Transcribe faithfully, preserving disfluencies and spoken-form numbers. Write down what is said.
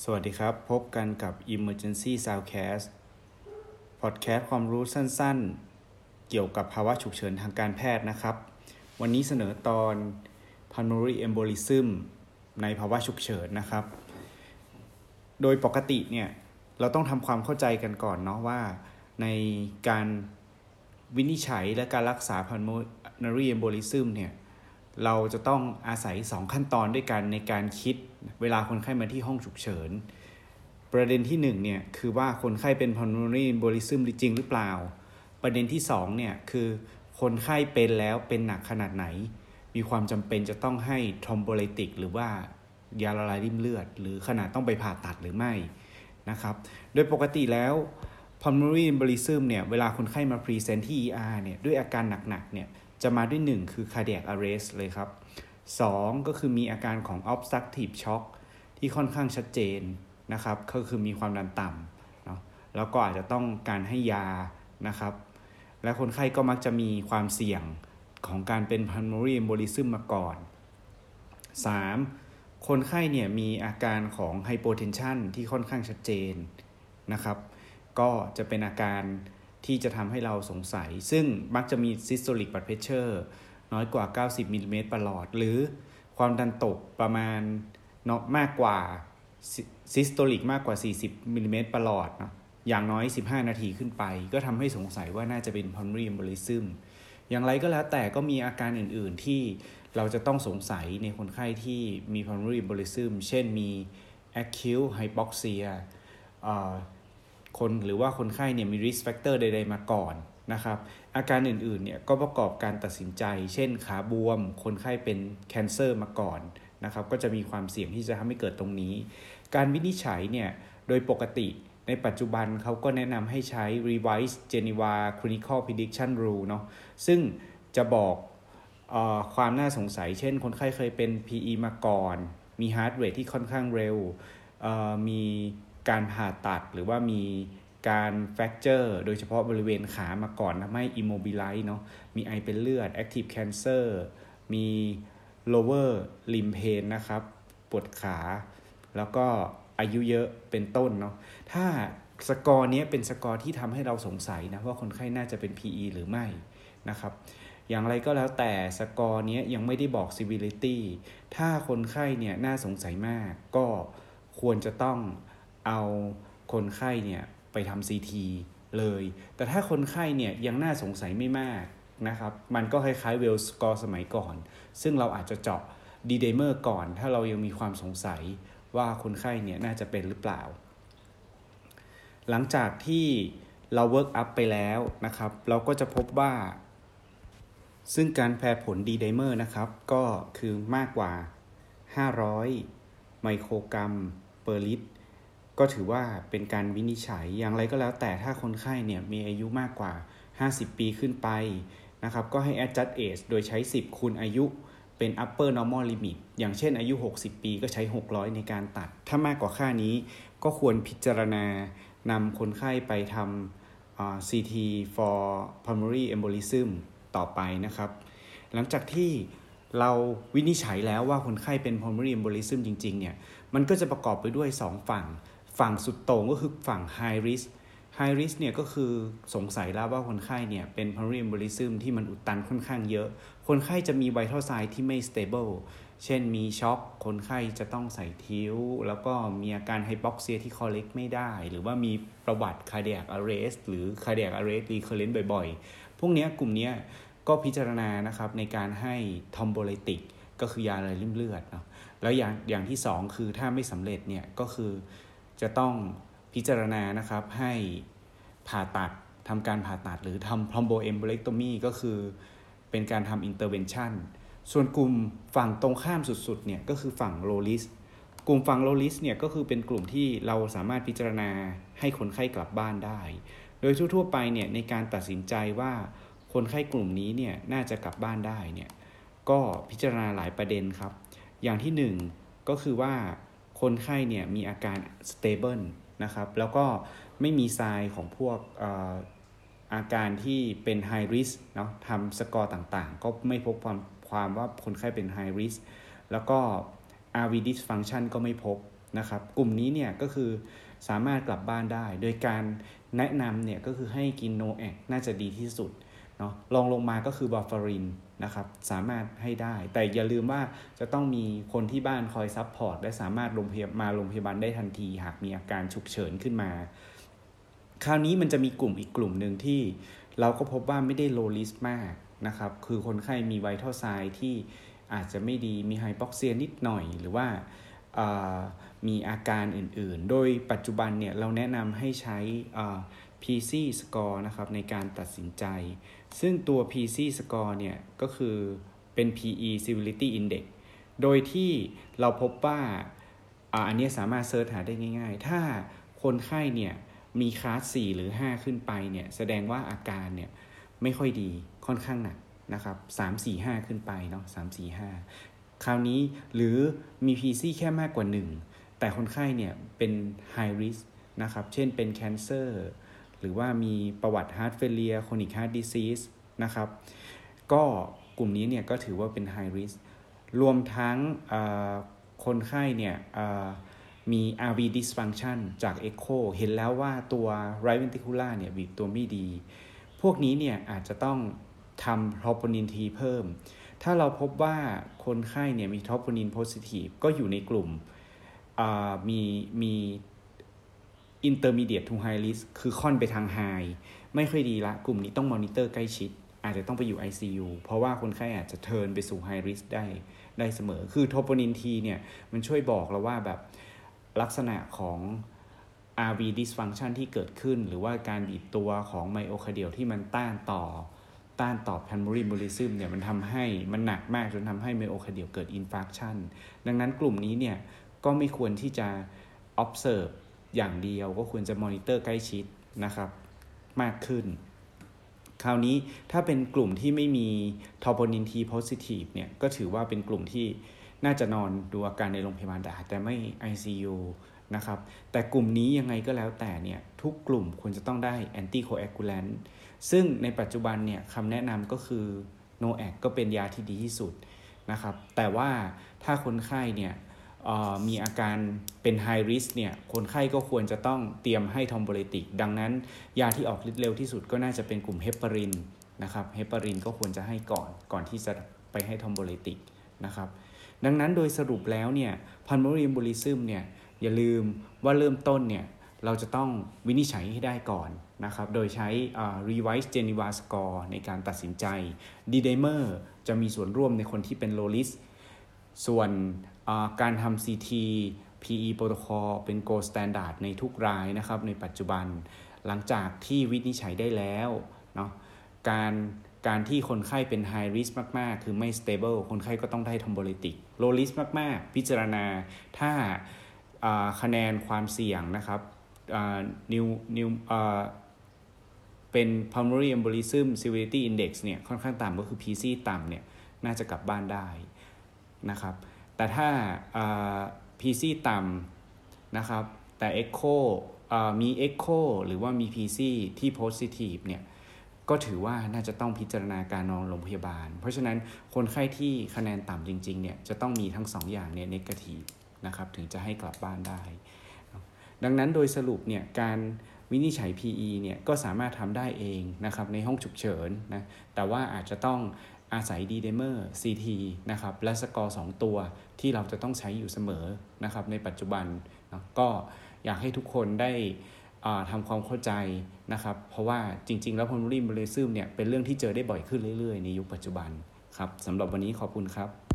สวัสดีครับพบกันกับ Emergency Soundcast Podcast ความรู้สั้นๆเกี่ยวกับภาวะฉุกเฉินทางการแพทย์นะครับวันนี้เสนอตอน Pulmonary Embolism ในภาวะฉุกเฉินนะครับโดยปกติเนี่ยเราต้องทำความเข้าใจกันก่อนเนาะว่าในการวินิจฉัยและการรักษา Pulmonary Embolism เนี่ยเราจะต้องอาศัยสองขั้นตอนด้วยกันในการคิดเวลาคนไข้มาที่ห้องฉุกเฉินประเด็นที่หนึ่งเนี่ยคือว่าคนไข้เป็น pulmonary embolism จริงหรือเปล่าประเด็นที่สองเนี่ยคือคนไข้เป็นแล้วเป็นหนักขนาดไหนมีความจำเป็นจะต้องให้ thrombolytic หรือว่ายาละลายริ่มเลือดหรือขนาดต้องไปผ่าตัดหรือไม่นะครับโดยปกติแล้ว pulmonary embolism เนี่ยเวลาคนไข้มา present ที่ อี อาร์ เนี่ยด้วยอาการหนักๆเนี่ยจะมาด้วยหนึ่งคือ cardiac arrest เลยครับสองก็คือมีอาการของ obstructive shock ที่ค่อนข้างชัดเจนนะครับก็คือมีความดันต่ำเนาะแล้วก็อาจจะต้องการให้ยานะครับและคนไข้ก็มักจะมีความเสี่ยงของการเป็น pulmonary embolism มาก่อนสามคนไข้เนี่ยมีอาการของ hypotension ที่ค่อนข้างชัดเจนนะครับก็จะเป็นอาการที่จะทำให้เราสงสัยซึ่งมักจะมี systolic blood pressure น้อยกว่าเก้าสิบมิลลิเมตรประหลอดหรือความดันตกประมาณเนาะมากกว่า systolic มากกว่าสี่สิบมิลลิเมตรประหลอดเนาะอย่างน้อยสิบห้านาทีขึ้นไปก็ทำให้สงสัยว่าน่าจะเป็น pulmonary embolism อย่างไรก็แล้วแต่ก็มีอาการอื่นๆที่เราจะต้องสงสัยในคนไข้ที่มี pulmonary embolism เช่นมี acute hypoxia คนหรือว่าคนไข้เนี่ยมี risk factor ใดๆมาก่อนนะครับอาการอื่นๆเนี่ยก็ประกอบการตัดสินใจเช่นขาบวมคนไข้เป็น cancer มาก่อนนะครับก็จะมีความเสี่ยงที่จะทำให้เกิดตรงนี้การวินิจฉัยเนี่ยโดยปกติในปัจจุบันเขาก็แนะนำให้ใช้ Revised Geneva Clinical Prediction Rule เนาะซึ่งจะบอกเอ่อความน่าสงสัยเช่นคนไข้เคยเป็น พี อี มาก่อนมี heart rate ที่ค่อนข้างเร็วเอ่อมีการผ่าตัดหรือว่ามีการแฟกเจอร์โดยเฉพาะบริเวณขามาก่อนทำให้ immobilize เนาะมีไอเป็นเลือด active cancer มี lower limb pain นะครับปวดขาแล้วก็อายุเยอะเป็นต้นเนาะถ้าสกอร์นี้เป็นสกอร์ที่ทำให้เราสงสัยนะว่าคนไข้น่าจะเป็น พี อี หรือไม่นะครับอย่างไรก็แล้วแต่สกอร์นี้ยังไม่ได้บอก severity ถ้าคนไข้เนี่ยน่าสงสัยมากก็ควรจะต้องเอาคนไข้เนี่ยไปทำ ซี ที เลยแต่ถ้าคนไข้เนี่ยยังน่าสงสัยไม่มากนะครับมันก็คล้ายๆ Wells score สมัยก่อนซึ่งเราอาจจะเจาะ D-dimer ก่อนถ้าเรายังมีความสงสัยว่าคนไข้เนี่ยน่าจะเป็นหรือเปล่าหลังจากที่เรา work up ไปแล้วนะครับเราก็จะพบว่าซึ่งการแปรผล D-dimer นะครับก็คือมากกว่าห้าร้อยไมโครกรัมเปอร์ลิตรก็ถือว่าเป็นการวินิจฉัยอย่างไรก็แล้วแต่ถ้าคนไข้เนี่ยมีอายุมากกว่าห้าสิบปีขึ้นไปนะครับก็ให้ adjust age โดยใช้สิบคูณอายุเป็น upper normal limit อย่างเช่นอายุหกสิบปีก็ใช้หกร้อยในการตัดถ้ามากกว่าค่านี้ก็ควรพิจารณานำคนไข้ไปทำ uh, ซี ที for pulmonary embolism ต่อไปนะครับหลังจากที่เราวินิจฉัยแล้วว่าคนไข้เป็น pulmonary embolism จริงๆเนี่ยมันก็จะประกอบไปด้วยสองฝั่งฝั่งสุดโต่งก็คือฝั่ง high risk high risk เนี่ยก็คือสงสัยแล้วว่าคนไข้เนี่ยเป็น pulmonary embolism ที่มันอุดตันค่อนข้างเยอะคนไข้จะมี vital sign ที่ไม่ stable เช่นมีช็อกคนไข้จะต้องใส่ทิ้วแล้วก็มีอาการ hypoxia ที่ correct ไม่ได้หรือว่ามีประวัติ cardiac arrest หรือ cardiac arrest recurrent บ่อยๆพวกนี้กลุ่มนี้ก็พิจารณานะครับในการให้ thrombolytic ก็คือยาละลายริ่มเลือดเนาะแล้วอย่างอย่างที่สองคือถ้าไม่สำเร็จเนี่ยก็คือจะต้องพิจารณานะครับให้ผ่าตัดทำการผ่าตัดหรือทำ thromboembolectomy ก็คือเป็นการทำ intervention ส่วนกลุ่มฝั่งตรงข้ามสุดๆเนี่ยก็คือฝั่ง low risk กลุ่มฝั่ง low risk เนี่ยก็คือเป็นกลุ่มที่เราสามารถพิจารณาให้คนไข้กลับบ้านได้โดยทั่วๆไปเนี่ยในการตัดสินใจว่าคนไข้กลุ่มนี้เนี่ยน่าจะกลับบ้านได้เนี่ยก็พิจารณาหลายประเด็นครับอย่างที่หนึ่งก็คือว่าคนไข้เนี่ยมีอาการ stable นะครับแล้วก็ไม่มีไซน์ของพวกเอ่ออาการที่เป็น high risk เนาะทำสกอร์ต่างๆก็ไม่พบความความว่าคนไข้เป็น high risk แล้วก็ อาร์ วี dysfunction ก็ไม่พบนะครับกลุ่มนี้เนี่ยก็คือสามารถกลับบ้านได้โดยการแนะนำเนี่ยก็คือให้กินโนแอคน่าจะดีที่สุดเนาะรองลงมาก็คือบาฟารินนะครับสามารถให้ได้แต่อย่าลืมว่าจะต้องมีคนที่บ้านคอยซัพพอร์ตและสามารถโรงพยาบาลมาโรงพยาบาลได้ทันทีหากมีอาการฉุกเฉินขึ้นมาคราวนี้มันจะมีกลุ่มอีกกลุ่มหนึ่งที่เราก็พบว่าไม่ได้โลริสมากนะครับคือคนไข้มีไวทัลไซน์ที่อาจจะไม่ดีมีไฮปอกเซียนิดหน่อยหรือว่ามีอาการอื่นๆโดยปัจจุบันเนี่ยเราแนะนำให้ใช้ พี ซี score นะครับในการตัดสินใจซึ่งตัว พี ซี score เนี่ยก็คือเป็น พี อี Severity Index โดยที่เราพบว่าอ่าอันนี้สามารถเซิร์ชหาได้ง่ายๆถ้าคนไข้เนี่ยมีคลาสสี่หรือห้าขึ้นไปเนี่ยแสดงว่าอาการเนี่ยไม่ค่อยดีค่อนข้างหนักนะครับสาม สี่ ห้าขึ้นไปเนาะสาม สี่ ห้าคราวนี้หรือมี พี ซี แค่มากกว่าหนึ่งแต่คนไข้เนี่ยเป็น high risk นะครับเช่นเป็น cancer หรือว่ามีประวัติ heart failure chronic heart disease นะครับก็กลุ่มนี้เนี่ยก็ถือว่าเป็น high risk รวมทั้งคนไข้เนี่ยมี อาร์ วี dysfunction จาก echo เห็นแล้วว่าตัว right ventricular เนี่ยบีบตัวไม่ดีพวกนี้เนี่ยอาจจะต้องทำ troponin T เพิ่มถ้าเราพบว่าคนไข้เนี่ยมี troponin positive ก็อยู่ในกลุ่มมีมี intermediate to high risk คือค่อนไปทาง high ไม่ค่อยดีละกลุ่มนี้ต้องมอนิเตอร์ใกล้ชิดอาจจะต้องไปอยู่ ไอ ซี ยู เพราะว่าคนไข้อาจจะเทิร์นไปสู่ high risk ได้ได้เสมอคือ troponin T เนี่ยมันช่วยบอกเราว่าแบบลักษณะของ อาร์ วี dysfunction ที่เกิดขึ้นหรือว่าการบีบตัวของไมโอคาร์เดียลที่มันต้านต่อต้านต่อ pulmonary embolism เนี่ยมันทำให้มันหนักมากจนทำให้ไมโอคาร์เดียลเกิด infarction ดังนั้นกลุ่มนี้เนี่ยก็ไม่ควรที่จะ observe อย่างเดียวก็ควรจะ monitor ใกล้ชิดนะครับมากขึ้นคราวนี้ถ้าเป็นกลุ่มที่ไม่มี troponin T positive เนี่ยก็ถือว่าเป็นกลุ่มที่น่าจะนอนดูอาการในโรงพยาบาลได้แต่ไม่ ไอ ซี ยู นะครับแต่กลุ่มนี้ยังไงก็แล้วแต่เนี่ยทุกกลุ่มควรจะต้องได้ anticoagulant ซึ่งในปัจจุบันเนี่ยคำแนะนำก็คือ โน แอค ก็เป็นยาที่ดีที่สุดนะครับแต่ว่าถ้าคนไข้เนี่ยมีอาการเป็น high risk เนี่ยคนไข้ก็ควรจะต้องเตรียมให้ทอมโบเลติกดังนั้นยาที่ออกฤทธิ์เร็วที่สุดก็น่าจะเป็นกลุ่มเฮปารินนะครับเฮปารินก็ควรจะให้ก่อนก่อนที่จะไปให้ทอมโบเลติกนะครับดังนั้นโดยสรุปแล้วเนี่ย pulmonary embolism เนี่ยอย่าลืมว่าเริ่มต้นเนี่ยเราจะต้องวินิจฉัยให้ได้ก่อนนะครับโดยใช้ revised Geneva score ในการตัดสินใจ D-dimer จะมีส่วนร่วมในคนที่เป็น low risk ส่วนการทำ ซี ที พี อี protocol เป็น gold standard ในทุกรายนะครับในปัจจุบันหลังจากที่วินิจฉัยได้แล้วเนาะการการที่คนไข้เป็น high risk มากๆคือไม่ stable คนไข้ก็ต้องได้ทอมโบลิติก low risk มากๆพิจารณาถ้าคะแนนความเสี่ยงนะครับนิวนิวเป็น pulmonary embolism severity index เนี่ยค่อนข้างต่ำก็คือ พี ซี ต่ำเนี่ยน่าจะกลับบ้านได้นะครับแต่ถ้า พี ซี ต่ำนะครับแต่ Echo มี Echo หรือว่ามี พี ซี ที่ positive เนี่ยก็ถือว่าน่าจะต้องพิจารณาการนอนโรงพยาบาลเพราะฉะนั้นคนไข้ที่คะแนนต่ำจริงๆเนี่ยจะต้องมีทั้งสองอย่างเนี่ย negative นะครับถึงจะให้กลับบ้านได้ดังนั้นโดยสรุปเนี่ยการวินิจฉัย พี อี เนี่ยก็สามารถทำได้เองนะครับในห้องฉุกเฉินนะแต่ว่าอาจจะต้องอาศัย D-dimer ซี ที นะครับและสกอร์สองตัวที่เราจะต้องใช้อยู่เสมอนะครับในปัจจุบันนะก็อยากให้ทุกคนได้ทำความเข้าใจนะครับเพราะว่าจริงๆแล้ว pulmonary embolism เนี่ยเป็นเรื่องที่เจอได้บ่อยขึ้นเรื่อยๆในยุคปัจจุบันครับสำหรับวันนี้ขอบคุณครับ